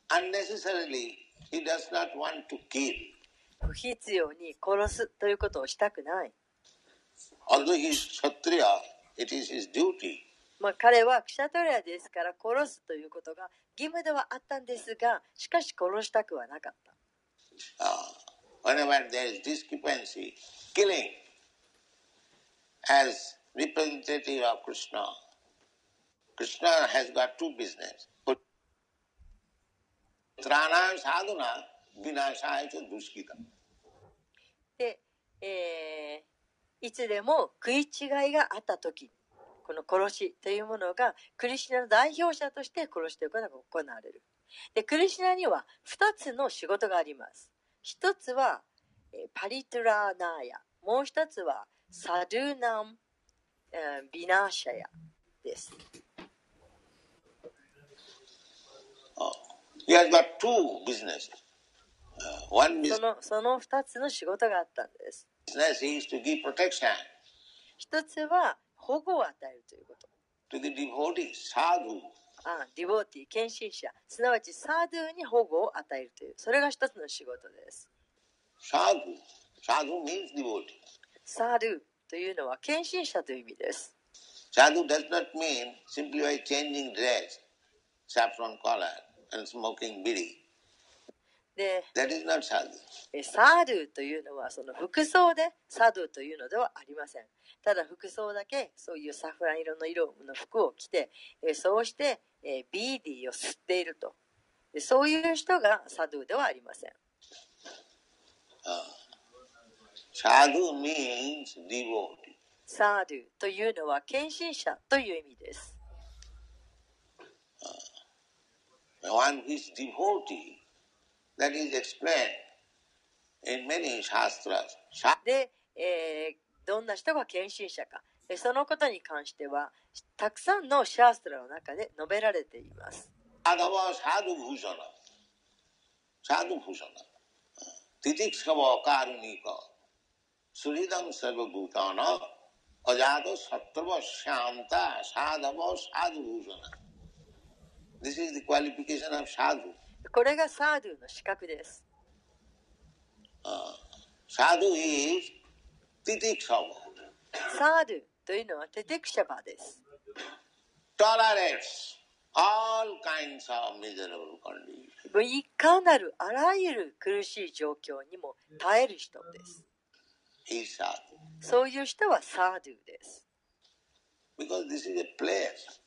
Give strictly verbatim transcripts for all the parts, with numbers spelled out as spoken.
unnecessarily he does not want to kill. 不必要に殺すということをしたくない。 Although he is Kshatriya, it is his duty. まあ、彼はクシャトリアですから殺すということが義務ではあったんですが、しかし殺したくはなかった。 Uh, whenever there is discrepancy, killing as representative of Krishna, Krishna has got two business. Trana sadhana vinashaya cha duskita. で、えー、いつでも食い違いがあったとき、この殺しというものがクリシュナの代表者として殺しということが行われる。で、クリシュナにはふたつの仕事があります。一つはパリトラーナーヤ、もう一つはサドゥナムビナーシャヤです。 He has got two businesses. Uh, one business その、その二つの仕事があったんです。 is to give protection 一つは保護を与えるということ。 to the devotee, sadhu. ああ、ディボーティー、献身者、すなわちサードゥに保護を与えるという、それが一つの仕事です。 Sadhu. Sadhu means devotee. サードゥというのは献身者という意味です。 Sadhu does not mean simply by changing dress, saffron collar and smoking bidi. で、 That is not sadhu. サードゥというのはその服装でサドゥというのではありません。ただ服装だけそういうサフラン色の色の服を着て、そうしてビーディーを吸っていると。そういう人がサドゥではありません。 Sadhu means devotee. サードゥというのは献身者という意味です。 One who is devotee, that is explained in many shastras. で、えー、どんな人が献身者か、そのことに関してはたくさんのシャーストラの中で述べられています。 Adhava sadhu bhushana. Sadhu bhushana. Titikshava karunika. Suridam sarva bhutana. Ajado sattva shanta sadhava sadhu bhushana. This is the qualification of sadhu. これがサードゥの資格です。 Uh, sadhu is titikshava. サードゥというのはテテクシャバです。 Tolerates all kinds of miserable conditions. いかなるあらゆる苦しい状況にも耐える人です。 He is sadhu. そういう人はサードゥです。 Because this is a place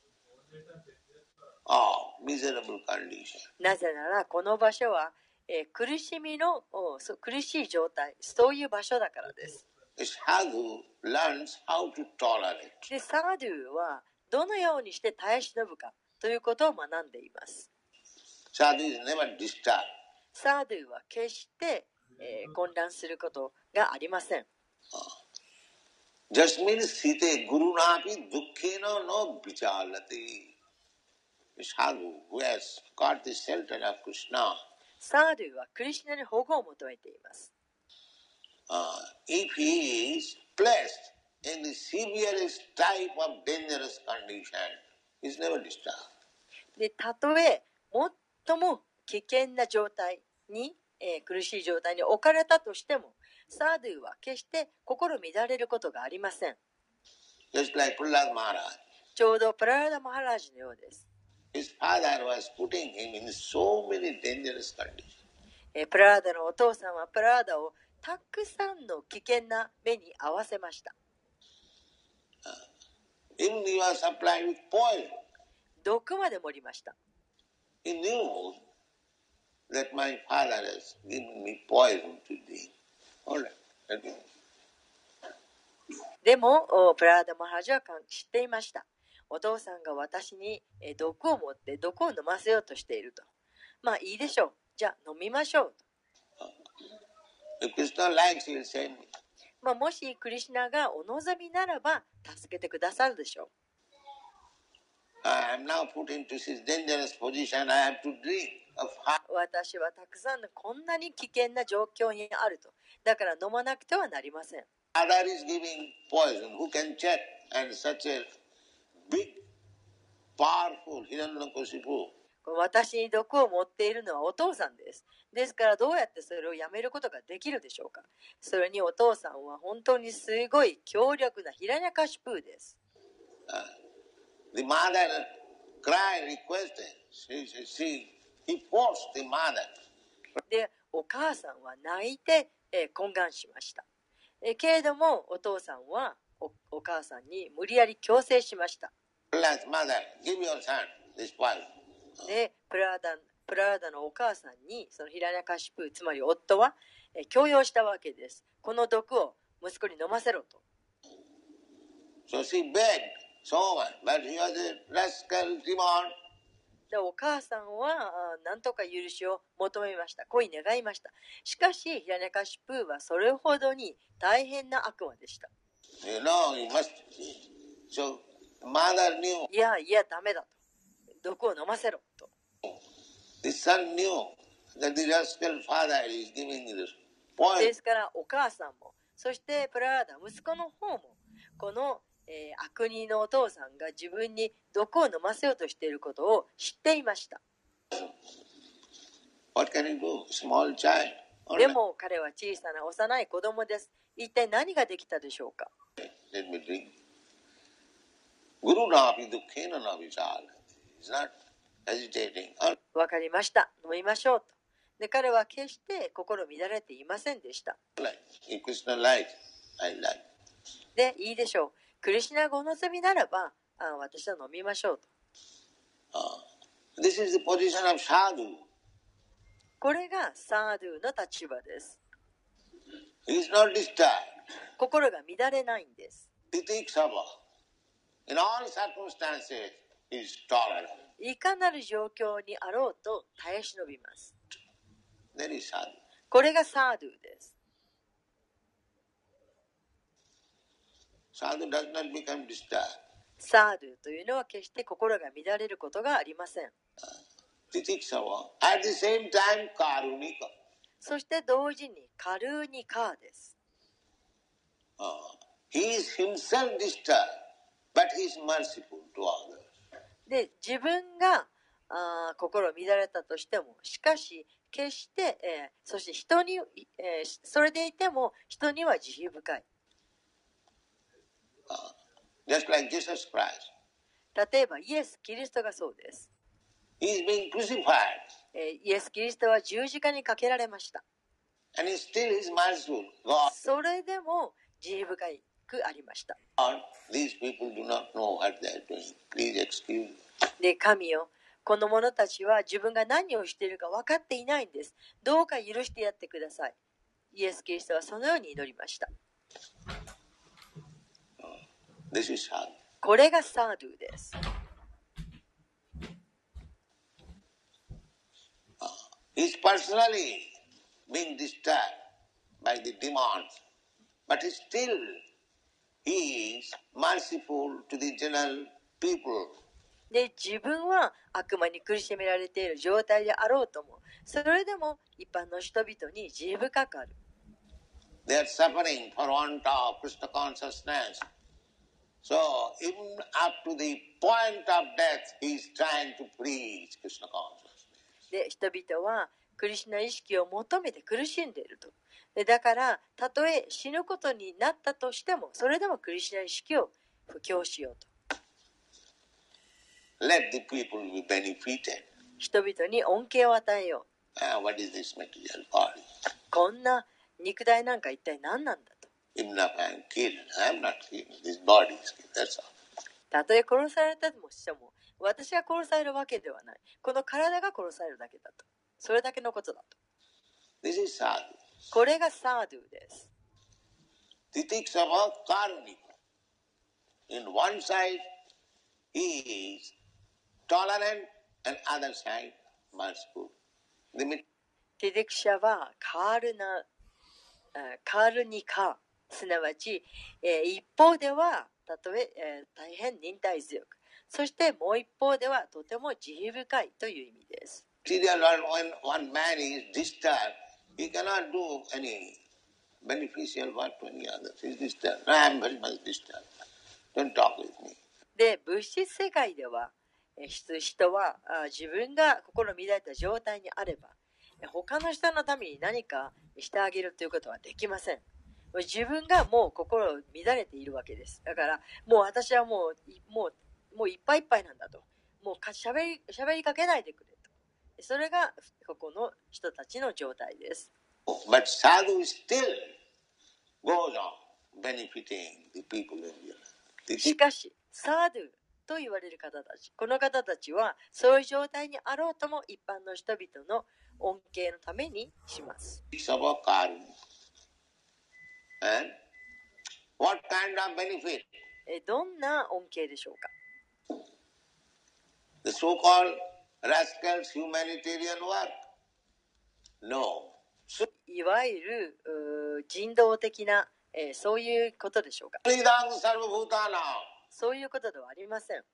of miserable condition. なぜならこの場所は、えー、苦しみの苦しい状態、そういう場所だからです。 Sadhu learns how to tolerate. で、サードゥはどのようにして耐え忍ぶかということを学んでいます。 Sadhu is never disturbed. サードゥは決して、えー、混乱することがありません。 Jasmin site gurunapi dukkhena no vichalati. Sadhu who has got the shelter of Krishna. サードゥはクリシュナに保護を求めています。 Uh, if he is placed in the severest type of dangerous condition, he is never disturbed. で、たとえ最も危険な状態に、えー、苦しい状態に置かれたとしても、サードゥは決して心乱れることがありません。 Just like Prahlad Maharaj. ちょうどプララダ・マハラージのようです。 His father was putting him in so many dangerous conditions. えー、プララダのお父さんはプララダをたくさんの危険な目に合わせました。 Even he was supplied with poison. 毒まで盛りました。 He knew that my father has given me poison to drink. All right. でもプララダ・マハラジは知っていました。お父さんが私に毒を持って毒を飲ませようとしていると。まあいいでしょう。じゃあ飲みましょうと。まあ、もしクリシュナがお望みならば助けてくださるでしょう。私はたくさんのこんなに危険な状況にあると。だから飲まなくてはなりません。 私に毒を持っているのはお父さんです。ですからどうやってそれをやめることができるでしょうか。それにお父さんは本当にすごい強力なヒラニャカシプーです。 Uh, the mother cried, requested. She, she, she, he forced the mother. で、お母さんは泣いて、えー、懇願しました。えー、けれどもお父さんは お, お母さんに無理やり強制しました。 Mother, give your son this spoil. で、プラーダ、プラーダのお母さんにそのヒラニャカシプー、つまり夫は、えー、強要したわけです。この毒を息子に飲ませろと。 So she begged so much, but he was a rascal demon. でお母さんは何とか許しを求めました。恋願いました。しかしヒラニャカシプーはそれほどに大変な悪魔でした。 You know, you must. So mother knew. いやいやダメだと。毒を飲ませろと。 The son knew that the rascal father is giving this poison. ですからお母さんも、そしてプラーダ息子の方もこの、えー、悪人のお父さんが自分に毒を飲ませようとしていることを知っていました。 What can he do? Small child. でも彼は小さな幼い子供です。一体何ができたでしょうか。 Let me drink. Guru Navi Dukhena Navichal. He's not hesitating. わかりました。飲みましょうと。で彼は決して心乱れていませんでした。で、いいでしょう。クリシュナがお望みならば、あ私は飲みましょうと。 Uh, this is the position of sadhu. これがサードゥの立場です。 He is not disturbed. 心が乱れないんです。 Titiksava. In all circumstances, he is tolerant. いかなる状況にあろうと耐え忍びます。 That is sadhu. これがサードゥです。 Sadhu does not become disturbed. サードゥというのは決して心が乱れることがありません。 Titiksava. At the same time, karunika. そして同時にカルーニカーです。 Uh, he is himself disturbed, but he is merciful to others. で、自分があ心乱れたとしても、しかし決して、えー、そして人に、えー、それでいても人には慈悲深い。 Uh, just like Jesus Christ. 例えばイエス・キリストがそうです。 He is being crucified. えー、イエス・キリストは十字架にかけられました。 And he still is merciful. God. それでも慈悲深くありました。 These people do not know what they are doing. Please excuse me. で、神よ、この者たちは自分が何をしているか分かっていないんです。どうか許してやってください。イエス・キリストはそのように祈りました。 This is sadhu. これがサードゥです。 He is personally being disturbed by the demons, but still he is merciful to the general people. で、自分は悪魔に苦しめられている状態であろうとも、それでも一般の人々に慈悲深くある。 They are suffering for want of Krishna consciousness. So, even up to the point of death, he is trying to preach Krishna consciousness. で、人々はクリシュナ意識を求めて苦しんでいると。で、だから、たとえ死ぬことになったとしても、それでもクリシュナ意識を布教しようと。 Let the people be benefited. 人々に恩恵を与えよう。 Uh, what is this material body? こんな肉体なんか一体何なんだと。 Even if I am killed, I am not killed. This body is killed. That's all. たとえ殺されたとしても、私が殺されるわけではない。この体が殺されるだけだと。それだけのことだと。 This is sadhu. これがサードゥです。 Titiksava karunika. In one side, he is tolerant, and other side, merciful. ティディクシャはカールナ、カールニカ、すなわち、えー、一方ではたとええー、大変忍耐強く、そしてもう一方ではとても慈悲深いという意味です。 When one man is disturbed, he cannot do any beneficial work to any others. He is disturbed. I am very much disturbed. Don't talk with me. で、物質世界では、 人は自分が心乱れた状態にあれば他の人のために何かしてあげるということはできません。自分がもう心乱れているわけです。だからもう私はもうもうもういっぱいいっぱいなんだと、もうしゃべりしゃべりかけないでくれと、それがここの人たちの状態です。 But sadhu still goes on benefiting the people in the しかしサードゥと言われる方たち、この方たちはそういう状態にあろうとも一般の人々の恩恵のためにします。 And what kind of benefit? どんな恩恵でしょうか。 The so-called rascals humanitarian work? No. いわゆる人道的な、えー、そういうことでしょうか。そういうことではありません。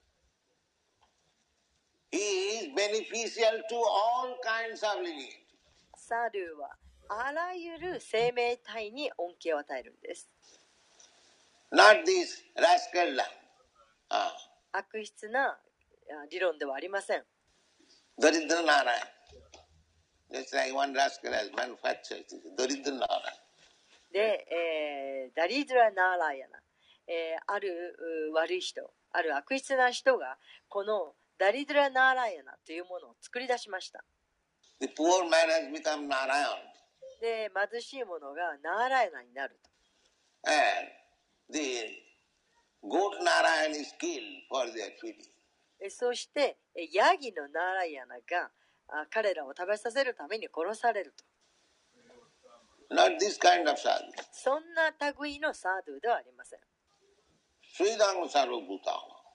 He is beneficial to all kinds of living. サルはあらゆる生命体に恩恵を与えるんです。 Not this rascal. Ah. 悪質な理論ではありません。 Daridra Narayana. Just like one rascal has manufactured Daridra Narayana. で、えー、ダリドラ・ナーラヤナ、えー、ある悪い人、ある悪質な人がこのダリドラ・ナーラヤナというものを作り出しました。 The poor man has become Narayan. で、貧しい者がナーラヤナになると。 And the goat Narayan is killed for their feeding. そしてヤギのナーラヤナが彼らを食べさせるために殺されると。 Not this kind of sadhu. そんな類のサードゥではありません。 Sridham Sarvabhuta.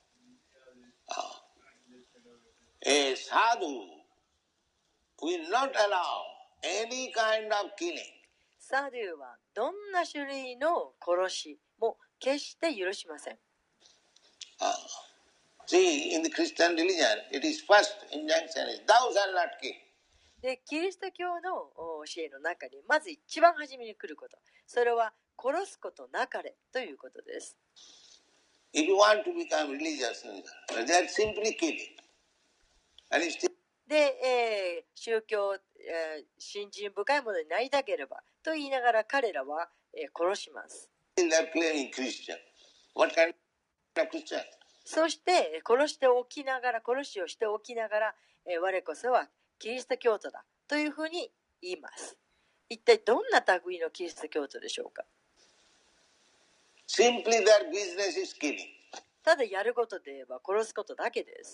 A sadhu will not allow any kind of killing. サードゥはどんな種類の殺しも決して許しません。 Ah. See, in the Christian religion, it is first injunction is thou shalt not kill. で、キリスト教の教えの中にまず一番初めに来ること、それは殺すことなかれということです。 If you want to become religious, they are simply killing. And it's still... で、えー、宗教、えー、信心深いものになりたければと言いながら彼らは、えー、殺します。 They are claiming Christian. What kind of Christian? そして殺しておきながら、殺しをしておきながら、えー、我こそはキリスト教徒だというふうに言います。一体どんな類のキリスト教徒でしょうか。 Simply their business is killing. ただやることで言えば殺すことだけです。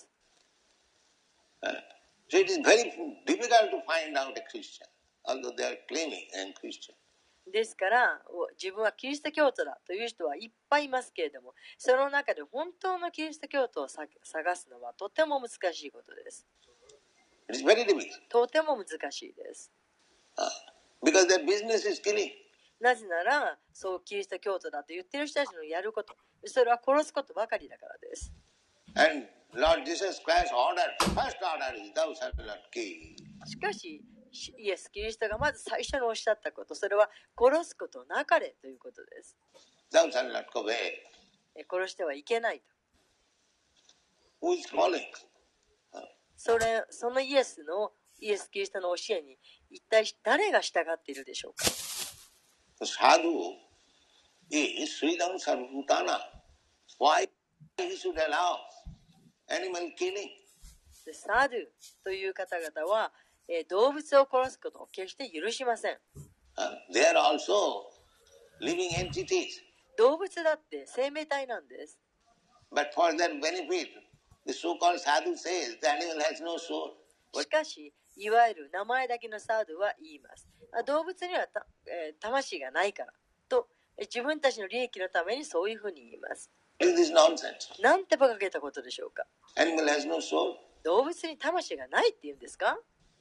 So it is very difficult to find out a Christian, although they are claiming I am Christian. ですから自分はキリスト教徒だという人はいっぱいいますけれども、その中で本当のキリスト教徒を探すのはとても難しいことです。 It is very difficult. とても難しいです。 Because their business is killing. なぜならそうキリスト教徒だと言っている人たちのやること、それは殺すことばかりだからです。 And Lord Jesus Christ ordered, first order is thou shalt not kill. しかしイエス・キリストがまず最初におっしゃったこと、それは殺すことなかれということです。 Thou shalt not covet. 殺してはいけないと。 Who is calling? それ、そのイエスのイエス・キリストの教えに一体誰が従っているでしょうか。 Sadhu is Sridham Sarvabhutana. Why he should allow animal killing? サドゥという方々は、えー、動物を殺すことを決して許しません。 They are also living entities. 動物だって生命体なんです。 But for their benefit, the so-called sadhu says the animal has no soul. しかし、いわゆる名前だけのサドゥは言います。動物にはた、えー、魂がないからと、自分たちの利益のためにそういうふうに言います。なんて馬鹿げたことでしょうか。 Animal has no soul. 動物に魂がないって言うんですか？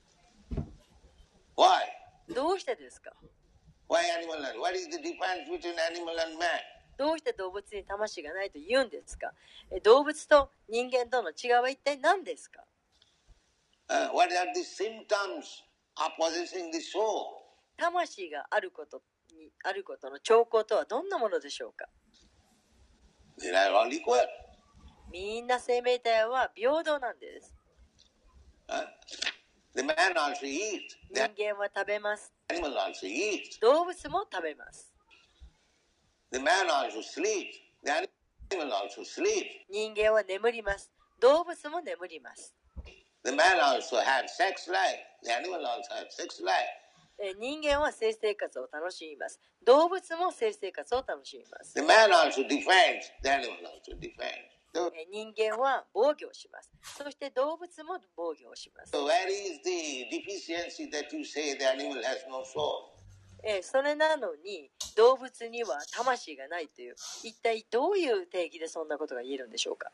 Why? どうしてですか？ Why animal? What is the difference between animal and man? どうして動物に魂がないと言うんですか？動物と人間との違いは一体何ですか？ Uh, what are the symptoms of possessing the soul? 魂があることにあることの兆候とはどんなものでしょうか？ They are all equal. みんな生命体は平等なんです。 Uh, the man also eats. 人 The 間は食べます。 animal also eats. 動物も食べます。 The man also sleeps. The animal also sleeps. 人間は眠ります。動物も眠ります。 The man also has sex life. The animal also has sex life. えー人間は性生活を楽しみます。動物も性生活を楽しみます。 The man also defends. The animal also defends. So, えー人間は防御をします。そして動物も防御をします。 so where is the deficiency that you say the animal has no soul? えーそれなのに動物には魂がないという、一体どういう定義でそんなことが言えるんでしょうか。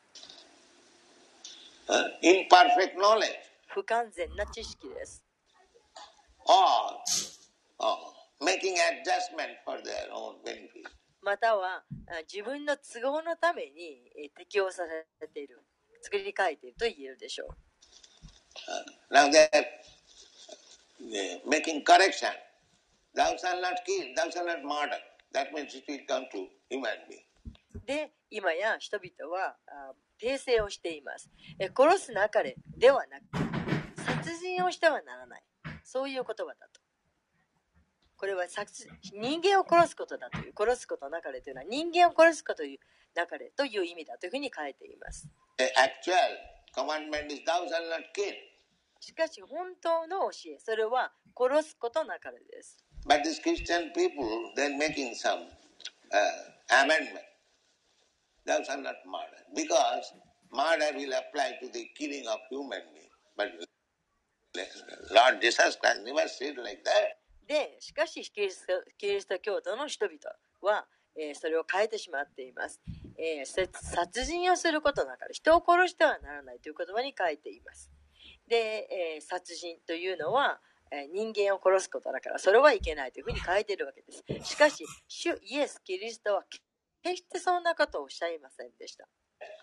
Uh, imperfect knowledge. 不完全な知識です。 Or uh, making adjustment for their own benefit. またはあ自分の都合のためにえー適応されている、作り変えていると言えるでしょう。 Uh, now they're uh, making correction. Thou shalt not kill, thou shalt not murder. That means it will come to human being. で、今や人々はあ訂正をしています。え殺すなかれではなく、殺人をしてはならない。そういう言葉だと。これは殺人間を殺すことだという、殺すことなかれというのは人間を殺すことというなかれという意味だというふうに書いています。 The actual commandment is thou shalt not kill. しかし本当の教え、それは殺すことなかれです。 But these Christian people, they're making some uh, amendment. Thou shalt not murder. Because murder will apply to the killing of human beings. But Lord Jesus Christ never said like that. で、しかしキリスト、キリスト教徒の人々は、えーそれを変えてしまっています。えー殺殺人をすることなかれ、人を殺してはならないという言葉に書いています。で、えー殺人というのは、えー人間を殺すことだから、それはいけないというふうに書いているわけです。しかし、主イエス・キリストは決してそんなことをおっしゃいませんでした。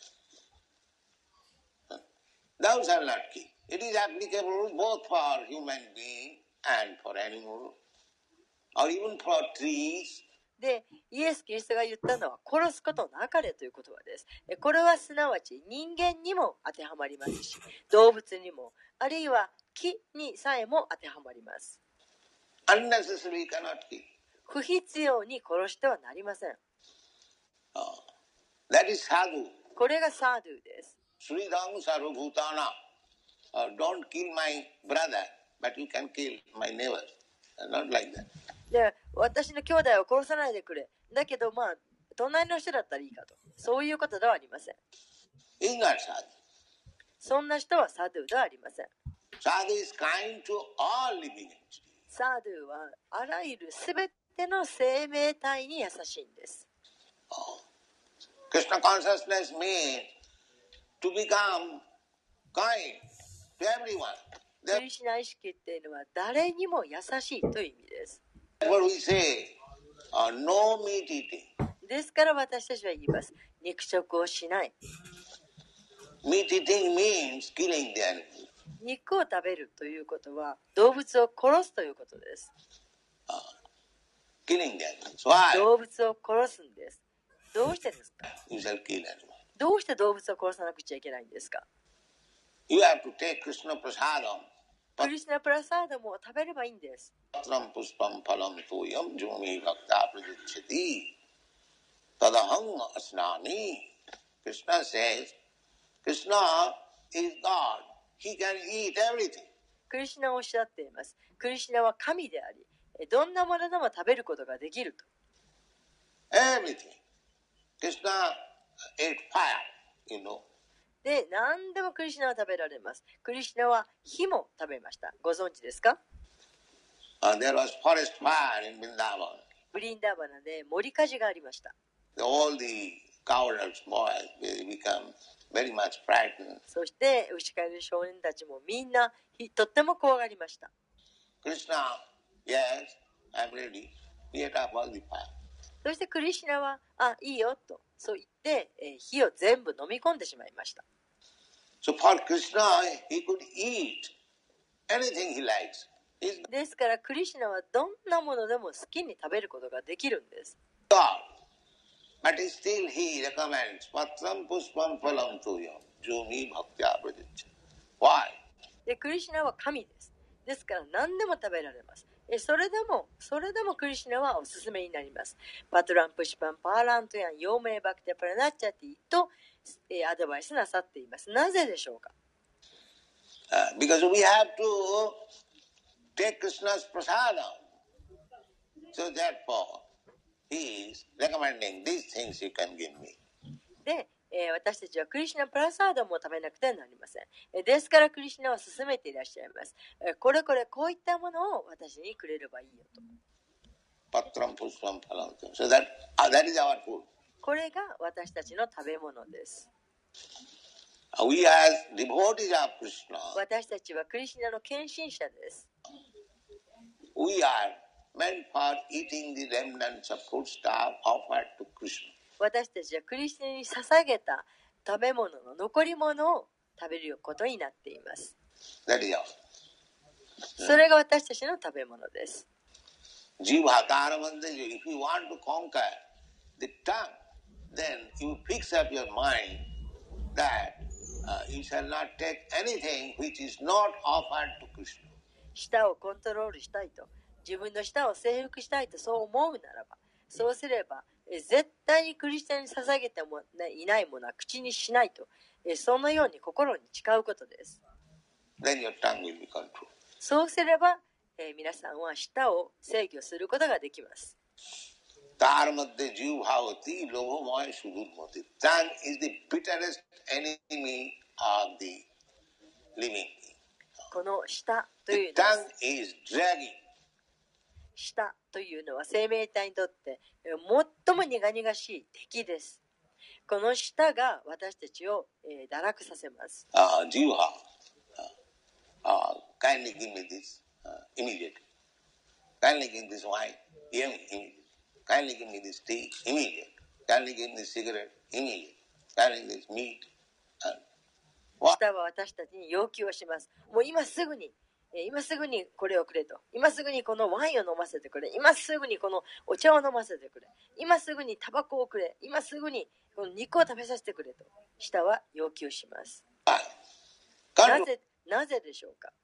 Thou shalt not kill. It is applicable both for human being and for animal, or even for trees. で、イエス・キリストが言ったのは殺すことなかれという言葉です。えこれはすなわち人間にも当てはまりますし、動物にも、あるいは木にさえも当てはまります。 Unnecessarily cannot kill. 不必要に殺してはなりません。 Oh. That is sadhu. これがサードゥです。 Sridham sarvabhutana. Uh, don't kill my brother, but you can kill my neighbor. Uh, Not like that. で、私の兄弟を殺さないでくれ。だけど、まあ、隣の人だったらいいかと。そういうことではありません。 Is not sadhu. そんな人はサードゥではありません。 Sadhu is kind to all living entities. サードゥはあらゆるすべての生命体に優しいんです。 Oh. Krishna consciousness means to become kind to everyone. クリシュナ意識っていうのは誰にも優しいという意味です。 Therefore we say, uh, no meat eating. ですから私たちは言います。肉食をしない。 Meat eating means killing the animal. 肉を食べるということは動物を殺すということです。 Killing the animals. Why? 動物を殺すんです。どうしてですか？ You shall kill animals. どうして動物を殺さなくちゃいけないんですか？ You have to take Krishna prasadam. クリシュナプラサーダムを食べればいいんです。 Patram puspam phalam toyam jumi bhakta prajichati. Tadaham asnani. Krishna says, Krishna is God. He can eat everything. クリシュナおっしゃっています。クリシュナは神であり、どんなものでも食べることができると。 Everything. Krishna ate fire, you know. で、何でもクリシュナは食べられます。クリシュナは火も食べました。ご存知ですか？ Uh, there was forest fire in Vrindavan. ブリンダーバナで森火事がありました。 All the cowards boys they become very much frightened. そして牛飼いの少年たちもみんなとっても怖がりました。 Krishna, yes, I'm ready. He ate up all the fire. そしてクリシュナは、あ、いいよと、そう言って、えー火を全部飲み込んでしまいました。 So for Krishna, he could eat anything he likes. He's ですからクリシュナはどんなものでも好きに食べることができるんです。 God. But still he recommends patram pushpam phalam tuyam jumi bhaktya pradiccha. Why? で、クリシュナは神です。ですから何でも食べられます。えそれでも、それでもクリシュナはおすすめになります。パトランプシパンパーラントヤン、ヨーメイバクテプラナッチャティと、えアドバイスなさっています。なぜでしょうか？ Uh, because we have to take Krishna's prasadam. So therefore, he is recommending these things you can give me. で、えー私たちはクリシュナプラサーダも食べなくてはなりません。えーですからクリシュナは勧めていらっしゃいます。えーこれこれこういったものを私にくれればいいよと。 Patram pushpam phalam tuyam. So that, uh, that is our food. これが私たちの食べ物です。 Uh, We as devotees of Krishna, 私たちはクリシュナの献身者です。 we are meant for eating the remnants of food stuff offered to Krishna. 私たちはクリスチャンに捧げた食べ物の残り物を食べることになっています。 That is all. それが私たちの食べ物です。 Jivhakaramante, if you want to conquer the tongue, then you fix up your mind that uh, you shall not take anything which is not offered to Krishna. 舌をコントロールしたいと、自分の舌を征服したいとそう思うならば、そうすればえ絶対にクリスチャンに捧げてもいないものは口にしないと、えそのように心に誓うことです。 Then your tongue will be controlled. そうすれば、えー皆さんは舌を制御することができます。 Tar madhye jivbhavati lobhamaya sudurmati. Tongue is the bitterest enemy of the living being. この舌とい The うのは tongue is dragging. 舌というのは生命体にとってえー最も苦々しい敵です。この舌が私たちを、えー堕落させます。 Uh, jivha, uh, uh, kindly give me this uh, immediately. Kindly give me this wine, immediately. Kindly give me this tea, immediately. Kindly give me this cigarette, immediately. Kindly give me this meat. Uh, what? 舌は私たちに要求をします。もう今すぐに、えー今すぐにこれをくれと。今すぐにこのワインを飲ませてくれ。今すぐにこのお茶を飲ませてくれ。今すぐにタバコをくれ。今すぐにこの肉を食べさせてくれと。舌は要求します。 Why? な Control. ぜ、なぜでしょうか？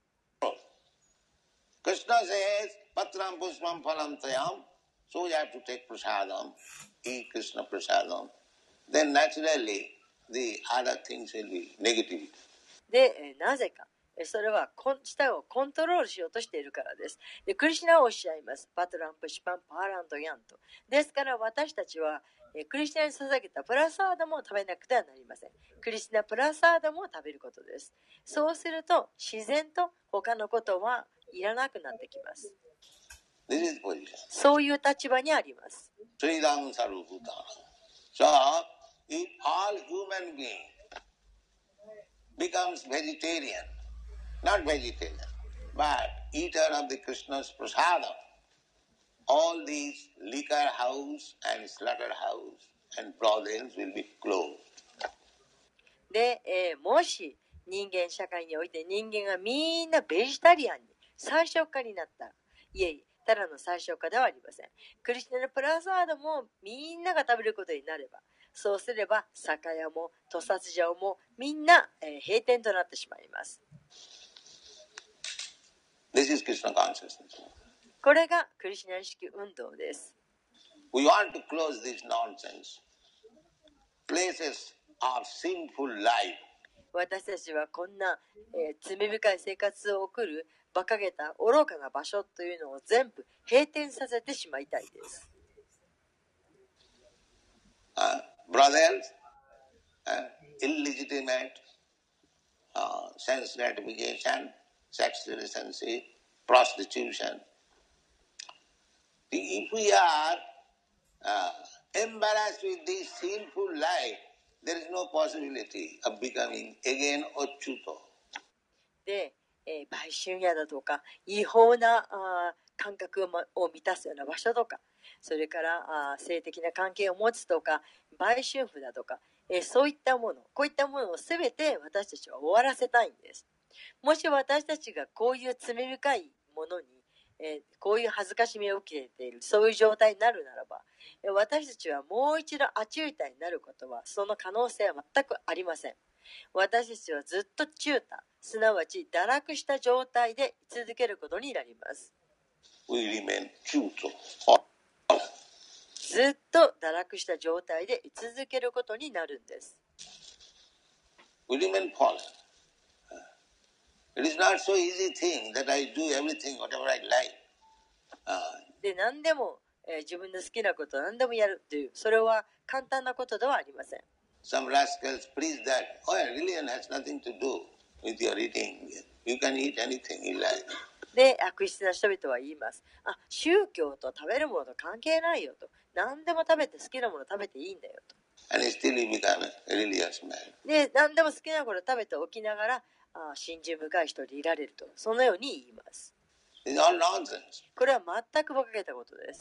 Krishna says, Patram pushpam phalam tayam. So you have to take prasadam, eat Krishna prasadam. Then naturally, the other things will be negative. で、えーなぜか。えーそれはこん舌をコントロールしようとしているからです。で、クリシュナはおっしゃいます。パトランプシパンパーランドヤンと。ですから私たちは、えークリシュナに捧げたプラサーダも食べなくてはなりません。クリシュナプラサーダも食べることです。そうすると自然と他のことはいらなくなってきます。 This is position. そういう立場にあります。 Sridham sarvabhutana. So, if all human being becomes vegetarian, not vegetarian, but eater of the Krishna's prasadam, all these liquor house and slaughterhouse and brothels will be closed. で、えーもし人間社会において人間がみんなベジタリアンに最小化になったら、いえいえ、ただの最小化ではありません。クリスチャンのプラサードもみんなが食べることになれば、そうすれば酒屋も屠殺場もみんな、えー閉店となってしまいます。 This is Krishna consciousness. これがクリシュナ意識運動です。 We want to close this nonsense. Places of sinful life. 私たちはこんな、えー罪深い生活を送る馬鹿げた愚かな場所というのを全部閉店させてしまいたいです。 Uh, brothels, uh, illegitimate uh, sense gratification, sex relationship, prostitution. If we are uh, embarrassed with this sinful life, there is no possibility of becoming again Achyuta. で、えー売春屋だとか違法なあー感覚を,、ま、を満たすような場所とか、それからあー性的な関係を持つとか売春婦だとか、えーそういったもの、こういったものをすべて私たちは終わらせたいんです。もし私たちがこういう罪深いものに、えーこういう恥ずかしみを受けている、そういう状態になるならば、 私たちはもう一度アチュータになることは、その可能性は全くありません。私たちはずっとチュータ、すなわち堕落した状態で居続けることになります。 We remain true to. ずっと堕落した状態で居続けることになるんです。 We remain fallen. It is not so easy thing that I do everything whatever I like. Uh, で、何でも、えー自分の好きなことを何でもやるという、それは簡単なことではありません。 some rascals preach that, oh, religion has nothing to do with your eating. You can eat anything you like. で、悪質な人々は言います。あ、宗教と食べるものと関係ないよと。何でも食べて好きなもの食べていいんだよと。 And still you become a religious man. で、何でも好きなもの食べておきながら、あ信心深い人でいられると。そのように言います。 It's all nonsense. これは全く馬鹿げたことです。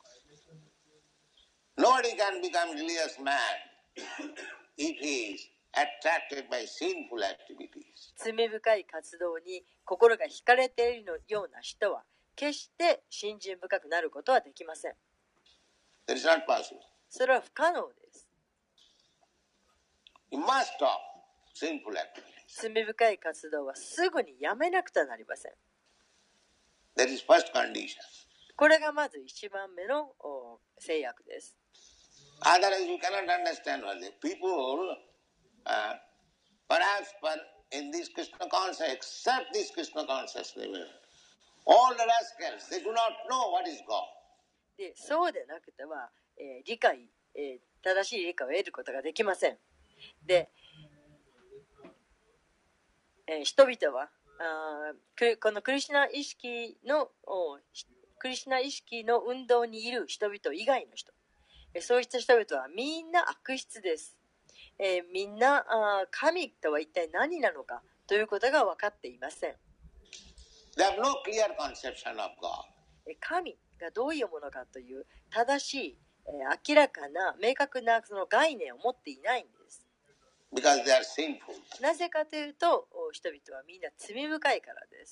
Nobody can become religious man if he is attracted by sinful activities. 罪深い活動に心が惹かれているような人は、決して信心深くなることはできません。 That is not possible. それは不可能です。 You must stop sinful activities. 罪深い活動はすぐにやめなくてはなりません。 That is first condition. これがまず一番目の制約です。 Otherwise you cannot understand what the people, uh, perhaps per, in this Krishna consciousness, except this Krishna consciousness level, all the rascals, they do not know what is God. でそうでなくては、えー、理解、えー、正しい理解を得ることができません。で、えー、人々はあこのクリシュナ意識のクリシュナ意識の運動にいる人々以外の人、えー、そうした人々はみんな悪質です。えー、みんなあ神とは一体何なのかということが分かっていません。 They have no clear conception of God. 神がどういうものかという正しい、えー、明らかな明確なその概念を持っていないんです。 Because they are sinful. なぜかというと、人々はみんな罪深いからです。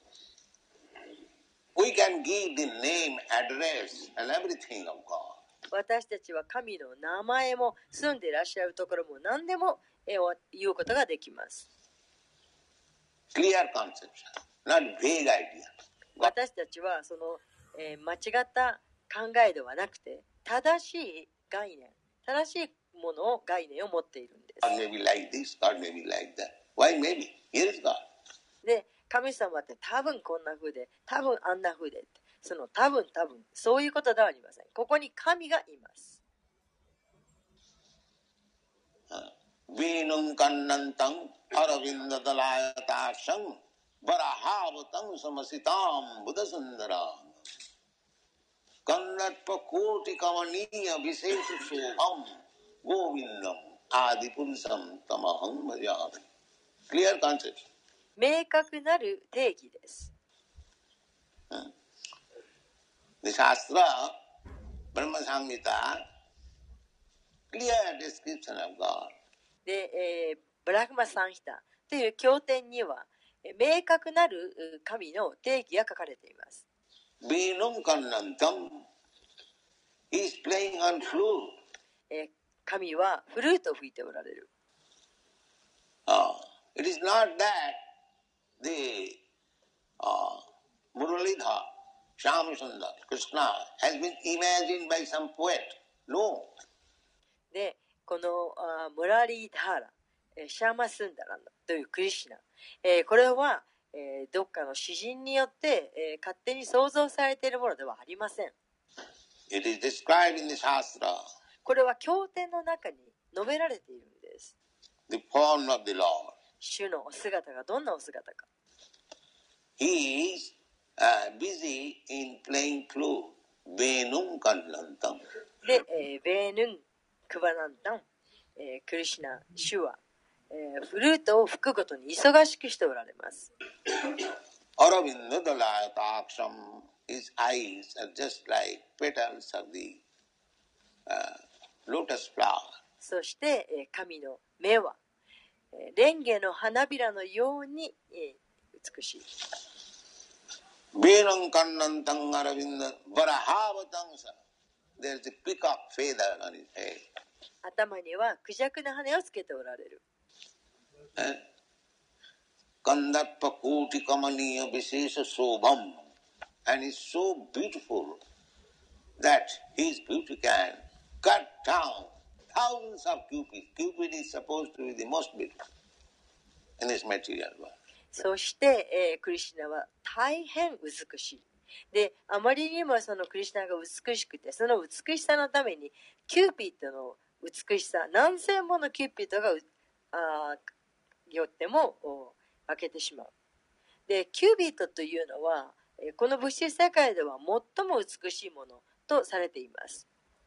We can give the name, address, and everything of God. 私たちは神の名前も住んでいらっしゃるところも何でも言うことができます。 Clear conception, not vague idea. 私たちはその、えー、間違った考えではなくて、正しい概念、正しいものを概念を持っているんです。 God may be like this, God may be like that. Why maybe? Here is God. で、神様って多分こんな風で、多分あんな風でって、その多分多分そういうことではありません。ここに神がいます。 Vinum kannantam aravindalayatasham varahavatam samasitam buddhasundaram kannatpa koti kavaniya viseshu shobham govindam adipurusam tamaham bhajami. Clear concept. 明確なる定義です。 The Shastra, Brahma Samhita, clear description of God. で、えー、ブラフマサンヒタという経典には、えー、明確なる神の定義が書かれています。 Vinum kannantam, he is playing on flute. えー、神はフルートを吹いておられる。 Uh, it is not that the uh, Muralidhar, Shyamsundar, Krishna has been imagined by some poet. No. で、このあムラリーダーラ、えー、シャーマスンダランというクリシュナ、えー、これは、えー、どっかの詩人によって、えー、勝手に創造されているものではありません。 It is described in the Shastra. これは経典の中に述べられているんです。 The form of the Lord. 主のお姿がどんなお姿か。 He is uh, busy in playing flute. Venum kannantam. で、えー、ベーヌン、クバナンタン、えー、クリシュナ、主は、えー、フルートを吹くことに忙しくしておられます。 Aravindalayatasham, his eyes are just like petals of the uh, lotus flower. そして、えー、神の目は、えー、レンゲの花びらのように、えー、美しい。 Venam kannantam aravinda varahavatam sa. there's a peacock feather on his head. 頭にはクジャクの羽をつけておられる。 Kandarpa koti kamaniya visesha sobham, and is so beautiful that his beauty can cut down thousands of cupids. Cupid is supposed to be the most beautiful in this material world. そして、えー、クリシュナは大変美しい。で、あまりにもそのクリシュナが美しくて、その美しさのためにキューピッドの美しさ、何千ものキューピッドがあよっても分けてしまう。で、キューピッドというのはこの物質世界では最も美しいものとされています。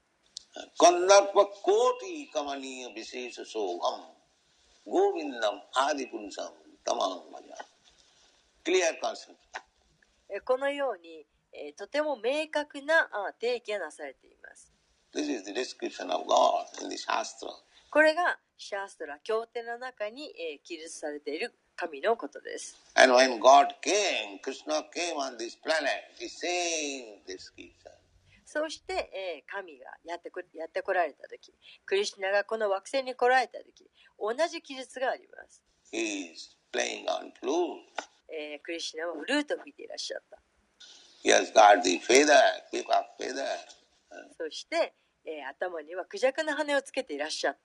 Kandarpa koti kamaniya visesha sobham, govindam adipurusam tamaham bhaja. Clear concept. このように、えー、とても明確な定義がなされています。 This is the description of God in the Shastra. これがシャーストラ経典の中に、えー、記述されている神のことです。 And when God came, Krishna came on this planet, the same description. そして、えー、神がやってこ、やってこられたとき、クリシュナがこの惑星に来られたとき、同じ記述があります。 He is playing on flute. えー、クリシュナはフルートを吹いていらっしゃった。 He has got the feather, peacock feather. そして、えー、頭にはクジャクの羽をつけていらっしゃった。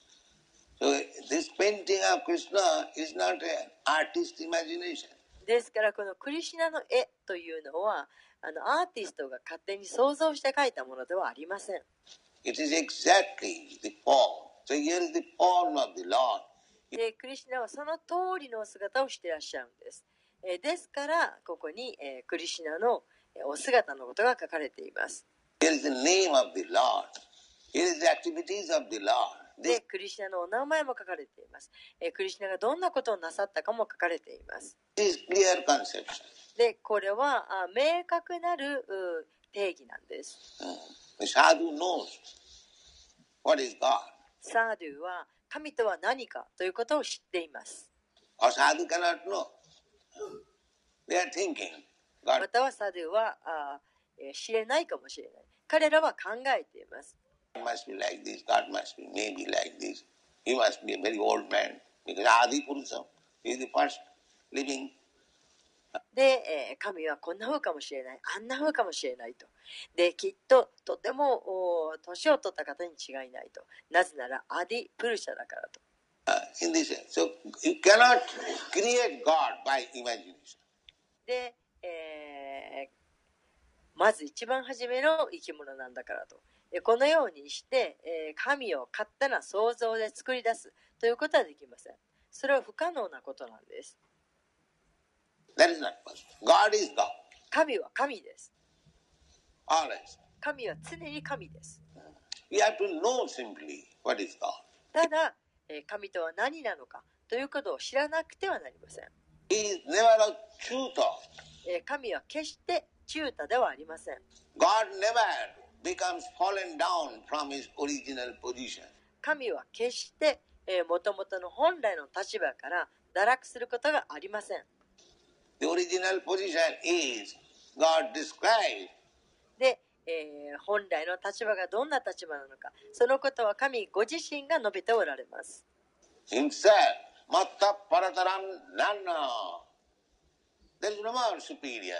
So this painting of Krishna is not an artist's imagination. ですからこのクリシュナの絵というのはあのアーティストが勝手に想像して描いたものではありません。 It is exactly the form. So here is the form of the Lord. でクリシュナはその通りのお姿をしていらっしゃるんです。えー、ですからここに、えー、クリシュナのお姿のことが書かれています。 Here is the name of the Lord. Here is the activities of the Lord. でクリシュナのお名前も書かれています。えー、クリシュナがどんなことをなさったかも書かれています。 This is clear conception. でこれはあ明確なる定義なんです。 The sadhu knows what is God. サードゥは神とは何かということを知っています。 Or sadhu cannot know. They are thinking. God. またはサドゥはあ、えー、知れないかもしれない。彼らは考えています。 God must be like this. God must be maybe like this. He must be a very old man. Because Adi Purusha is the first living. で、えー、神はこんな風かもしれない。あんな風かもしれないと。で、きっととても年を取った方に違いないと。なぜならアディ・プルシャだからと。 Uh, in this sense. So you cannot create God by imagination. で、えー、まず一番初めの生き物なんだからと。このようにして、えー、神を勝手な想像で作り出すということはできません。それは不可能なことなんです。 That is not possible. God is God. 神は神です。 Always. 神は常に神です。 You have to know simply what is God. ただ、えー、神とは何なのかということを知らなくてはなりません。 He is never a tutor. えー、神は決して中途ではありません。 God never becomes fallen down from his original position. 神は決してもともとの本来の立場から堕落することがありません。 The original position is God described. で、えー、本来の立場がどんな立場なのか、そのことは神ご自身が述べておられます。 Himself, Matta Parataram Nana. There is no more superior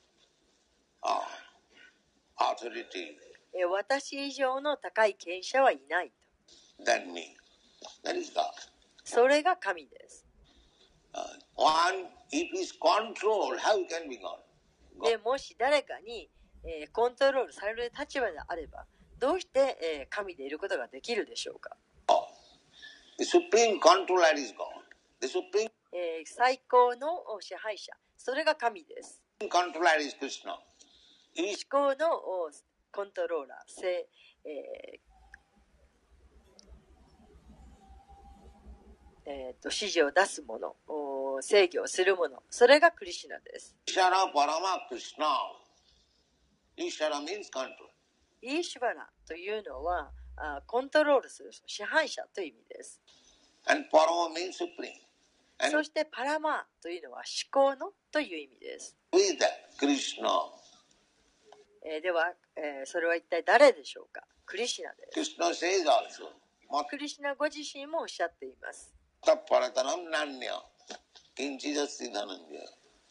oh, authority. 私以上の高い権者はいないと。 Than me. That is God. それが神です。 Uh, one, if he is controlled, how can be God? God. でもし誰かに、えー、コントロールされる立場であれば、どうして、えー、神でいることができるでしょうか。 Oh. The supreme controller is God. The supreme えー、最高の支配者、それが神です。 controller is Krishna. 思考のコントローラー、えーえー、と指示を出すもの、制御をするもの、それがクリシュナです。 Ishvara Parama Krishna. Ishvara means control. イーシュバラというのはあコントロールする支配者という意味です。 And Parama means supreme. And そしてパラマーというのは思考のという意味です。 with that Krishna えー、では、えー、それは一体誰でしょうか。クリシュナです。 Krishna says also, クリシュナご自身もおっしゃっています。 Paratanam nanya, kinchidasthi dhananjaya.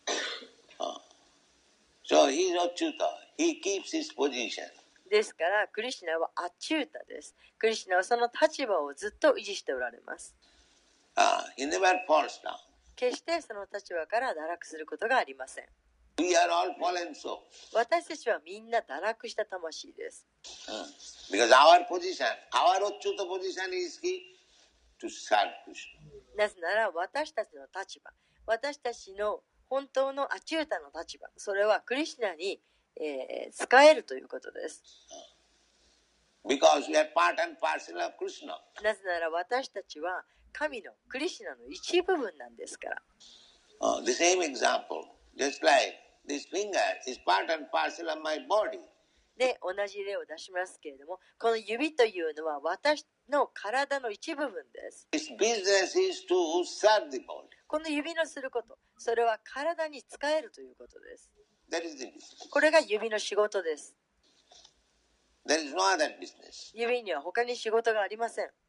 So he is Achyuta. He keeps his position. ですから、クリシュナはアチュータです。クリシュナはその立場をずっと維持しておられます。 Uh, he never falls down. 決してその立場から堕落することがありません。 We are all fallen souls. 私たちはみんな堕落した魂です。 Uh, because our position, our Achyuta position is he to serve Krishna. なぜなら私たちの立場、私たちの本当のアチュータの立場、それはクリシュナに、えー、使えるということです。 Because we are part and parcel of Krishna. なぜなら私たちは神のクリシュナの一部分なんですから。 Uh, the same example, just like this finger is part and parcel of my body. で、同じ例を出しますけれども、この指というのは私の体の一部分です。 Its business is to serve the body. この指のすること、それは体に使えるということです。 That is the business. これが指の仕事です。 There is no other business. 指には他に仕事がありません。 Uh,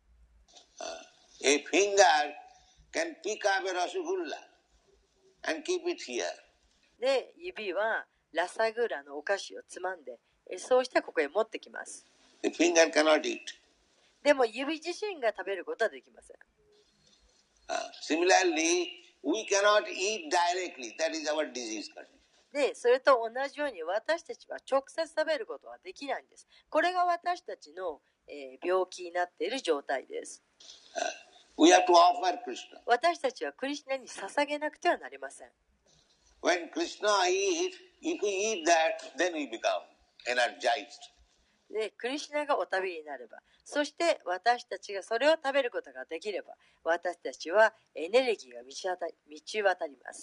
a finger can pick up a rasgulla and keep it here. で、指はラサグラのお菓子をつまんで、そうしてここへ持ってきます。 The finger cannot eat. でも指自身が食べることはできません。 Uh, similarly, we cannot eat directly. That is our disease condition. で、それと同じように私たちは直接食べることはできないんです。これが私たちの、えー、病気になっている状態です。 Uh, we have to offer Krishna. 私たちはクリシュナに捧げなくてはなりません。 When Krishna eats, if we eat that, then we become energized. で、クリシュナがお食べになれば、そして私たちがそれを食べることができれば、私たちはエネルギーが満ち渡り、満ち渡ります。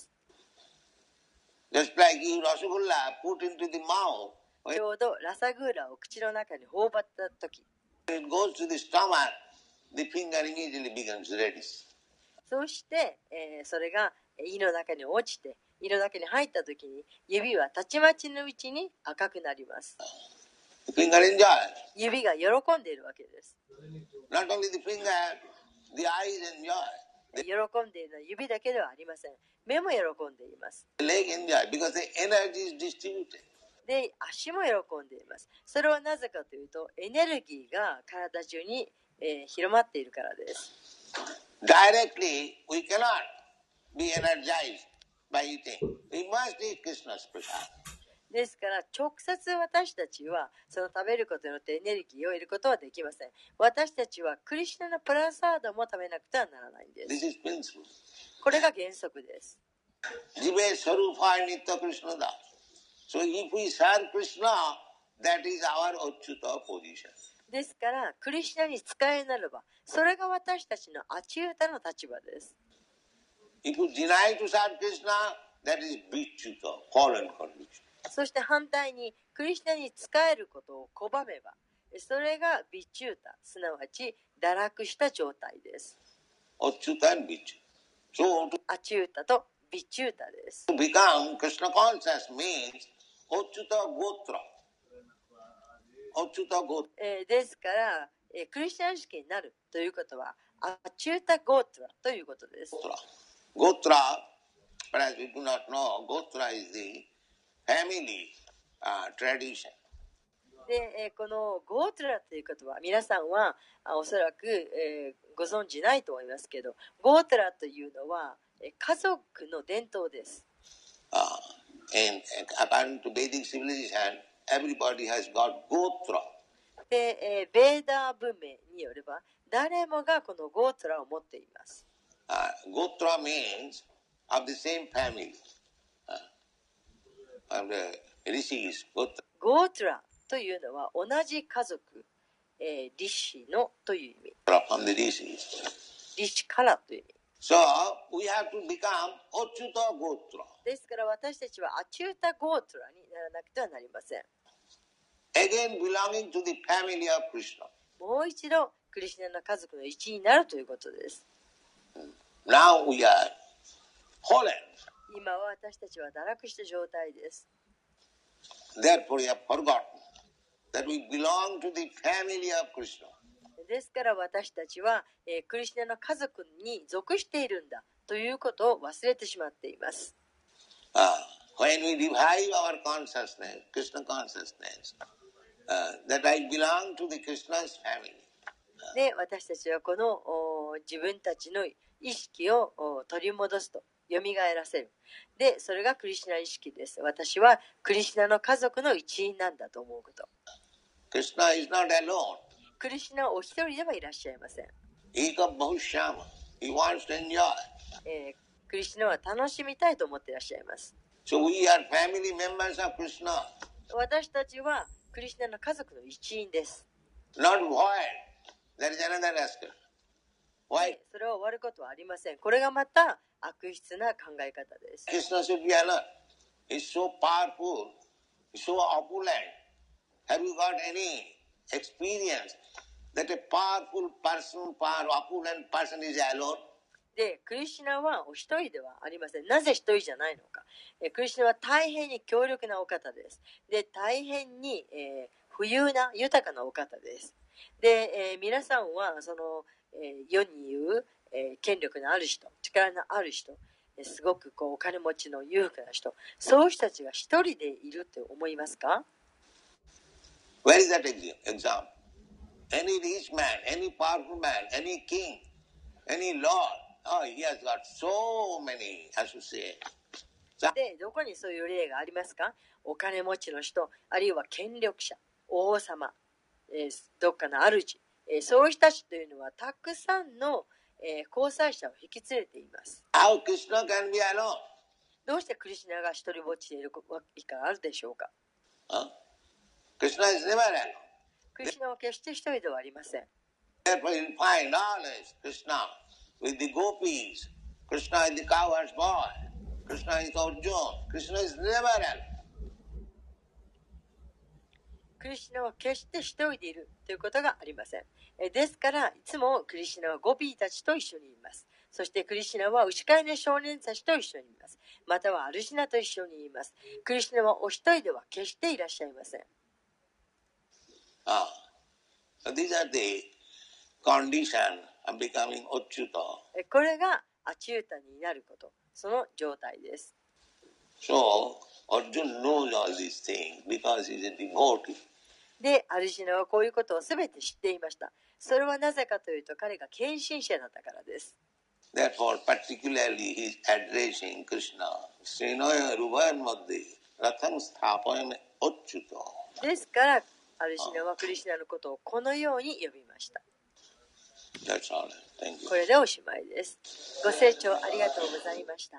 Just like you rasgulla put into the mouth, ちょうどラサグーラを口の中に頬張ったとき、 when it goes to the stomach, the finger immediately becomes reddish. そして、えー、それが胃の中に落ちて、胃の中に入ったときに、指はたちまちのうちに赤くなります。 The finger enjoys. 指が喜んでいるわけです。 Not only the finger, the eyes enjoy. 喜んでいるのは指だけではありません。目も喜んでいます。 The leg enjoy because the energy is distributed. で、足も喜んでいます。それはなぜかというと、エネルギーが体中に、えー、広まっているからです。 Directly, we cannot be energized by eating. We must eat Krishna's prasad. ですから直接私たちはその食べることによってエネルギーを得ることはできません。私たちはクリシュナのプラサードも食べなくてはならないんです。 This is principle. これが原則です。 Jive Sarupa Nitya Krishna Das. So if we serve Krishna, that is our Achyuta position. ですからクリシュナに使えならば、それが私たちのアチュータの立場です。 If you deny to serve Krishna, that is Vichyuta, fallen condition. そして反対にクリシュナに仕えることを拒めば、それがビチュータ、すなわち堕落した状態です。 Achyuta and Vichyuta. So to アチュータとビチュータです。 become Krishna conscious means Achyuta Gotra. Achyuta Gotra. えー、ですから、えー、クリスチャン式になるということはアチュータ・ゴートラということです。 Gotra, perhaps we do not know, Gotra is the family uh, tradition. で、えー、このゴートラということは皆さんはあおそらく、えー、ご存知ないと思いますけど、ゴートラというのは、えー、家族の伝統です。 Uh, and according to Vedic civilization, everybody has got Gotra. で、えー、ベーダー文明によれば誰もがこのゴートラを持っています。 Uh, Gotra means of the same family. Uh, of the rishis, Gotra. ゴートラというのは同じ家族、えー、リシのという意味。 From the rishis. リシからという意味。 So we have to become Achyuta Gotra. ですから私たちはアチュータ・ゴートラにならなくてはなりません。 Again belonging to the family of Krishna. もう一度クリシュナの家族の一員になるということです。 Now we are fallen. 今は私たちは堕落した状態です。 Therefore, we have forgotten that we belong to the family of Krishna. ですから私たちは、えークリシュナの家族に属しているんだということを忘れてしまっています。 Uh, when we revive our consciousness, Krishna consciousness, uh, that I belong to the Krishna's family. で、私たちはこのお自分たちの意識をお取り戻すと、蘇らせる。で、それがクリシュナ意識です。私はクリシュナの家族の一員なんだと思うこと。 Krishna is not alone. クリシュナはお一人ではいらっしゃいません。 Eka Bhaushyama. He wants to enjoy. えークリシュナは楽しみたいと思っていらっしゃいます。 So we are family members of Krishna. 私たちはクリシュナの家族の一員です。 Not void. That is another aspect. Why? それは終わることはありません。これがまた悪質な考え方です。 Krishna should be alert. He's so powerful, he's so opulent. Have you got any experience that a powerful person, power, opulent person is alone? で、クリシュナはお一人ではありません。なぜ一人じゃないのか。えクリシュナは大変に強力なお方です。で、大変に、えー、富裕な豊かなお方です。で、えー、皆さんはその、えー、世に言う、えー、権力のある人、力のある人、えー、すごくこうお金持ちの裕福な人、そういう人たちが一人でいると思いますか？ Where is that example? Any rich man, any powerful man, any king, any lord, oh, he has got so many associates. で、どこにそういう例がありますか？お金持ちの人、あるいは権力者、王様、えー、どっかの主、えー、そういう人たちというのはたくさんの、えー、交際者を引き連れています。 How Krishna can be alone? どうしてクリシュナが一人ぼっちでいるわけがあるでしょうか？ Huh? Krishna is never alone. クリシュナは決して一人ではありません。 Therefore, you find always Krishna with the gopis. Krishna is the cowherd's boy. Krishna is Arjuna. Krishna is never alone. クリシュナは決して一人でいるということがありません。えですから、いつもクリシュナはゴピーたちと一緒にいます。そしてクリシュナは牛飼いの少年たちと一緒にいます。またはアルシナと一緒にいます。クリシュナはお一人では決していらっしゃいません。 Ah, so these are the condition of becoming Achyuta. これがアチュータになること、その状態です。 So, Arjuna knows all these things because he is a devotee. で、アルシナはこういうことをすべて知っていました。それはなぜかというと、彼が献身者だったからです。 Therefore, particularly he is addressing Krishna. Srinoya ruvayan madhye ratham sthapayam achyuta. ですから、アルシナはクリシュナのことをこのように呼びました。 That's all. Thank you. これでおしまいです。ご清聴ありがとうございました。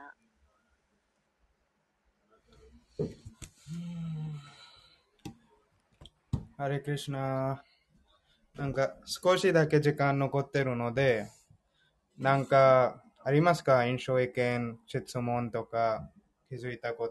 ハレクリシュナ。なんか少しだけ時間残ってるので、なんかありますか？印象意見、質問とか気づいたこと。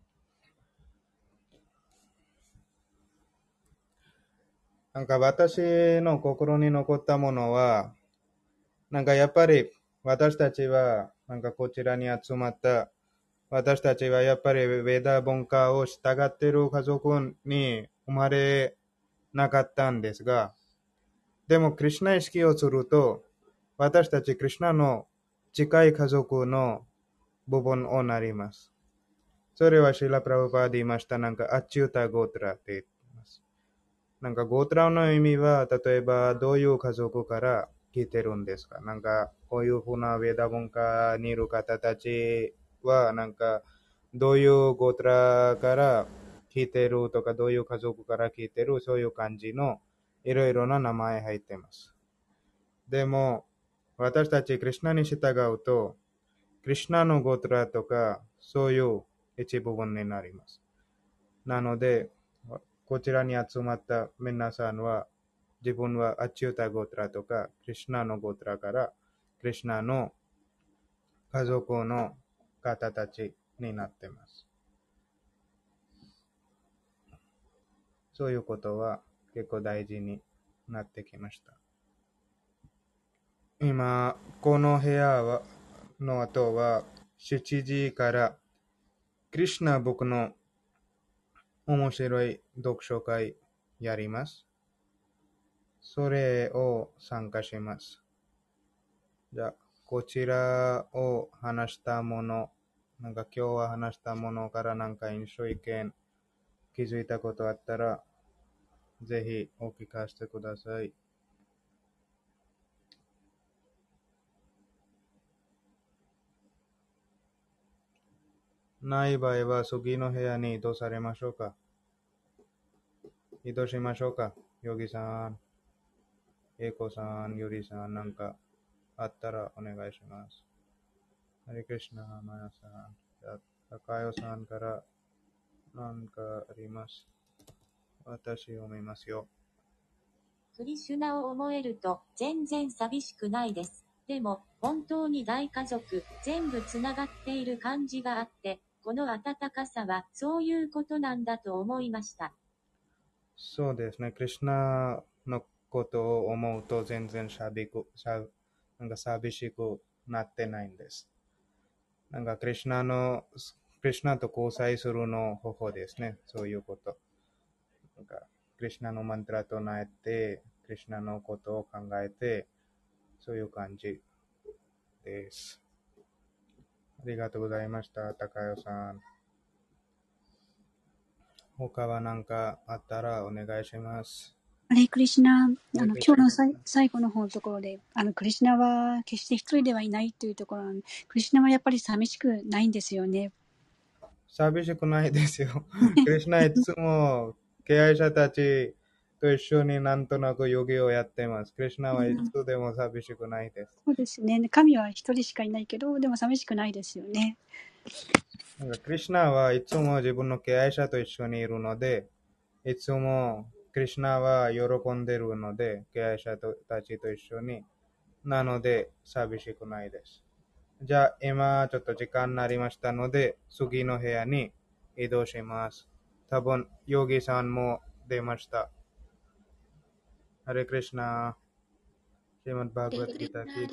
なんか私の心に残ったものは、なんかやっぱり私たちはなんかこちらに集まった私たちはやっぱりヴェダ文化を従っている家族に生まれなかったんですが、でもクリシュナ意識をすると私たちクリシュナの近い家族の部分をなります。それはシーラ・プラブパーで言いました。なんかアチュータ・ゴートラって言ってます。なんかゴートラの意味は例えばどういう家族から聞いてるんですか？なんかこういうふうなヴェダ文化にいる方たちはなんかどういうゴートラから聞いてるとかどういう家族から聞いてる、そういう感じのいろいろな名前入ってます。でも私たちクリシュナに従うとクリシュナのゴートラとかそういう一部分になります。なのでこちらに集まった皆さんは自分はアチュータゴートラとかクリシュナのゴートラからクリシュナの家族の方たちになっています。そういうことは結構大事になってきました。今この部屋はの後はしちじからクリシュナ僕の面白い読書会やります。それを参加します。じゃあ、こちらを話したもの、なんか今日は話したものからなんか印象意見気づいたことあったら、ぜひお聞かせてください。ない場合は次の部屋に移動されましょうか。移動しましょうか。ヨギさん、エイコさん、ユリさん、なんかあったらお願いします。ハリクリシナ、マヤさん、じゃあ、高代さんからなんかあります。私読みますよ。 クリシュナを思えると全然寂しくないです。でも本当に大家族全部つながっている感じがあって、この温かさはそういうことなんだと思いました。 そうですね。クリシュナのことを思うと全然寂く、なんか寂しくなってないんです。なんかクリシュナの、クリシュナと交際するの方法ですね。そういうこと。なんかクリシュナのマントラと唱えて、クリシュナのことを考えて、そういう感じです。ありがとうございました、高代さん。他は何かあったらお願いします。 ハレクリシナ、あの今日のさい最後の方のところで、あのクリシナは決して一人ではいないというところ、クリシナはやっぱり寂しくないんですよね。 寂しくないですよ。クリシナいつも敬愛者たちと一緒になんとなくヨギをやってます。クリシナはいつでも寂しくないです。 そうですね。神は一人しかいないけど、でも寂しくないですよね。 なんかクリシナはいつも自分の敬愛者と一緒にいるので、いつもクリシナは喜んでいるので、敬愛者たちと一緒に。なので、寂しくないです。じゃあ、今ちょっと時間になりましたので、次の部屋に移動します。多分、ヨギさんも出ました。ハレクリシナ、シリマッドバーガヴァッドギーターキ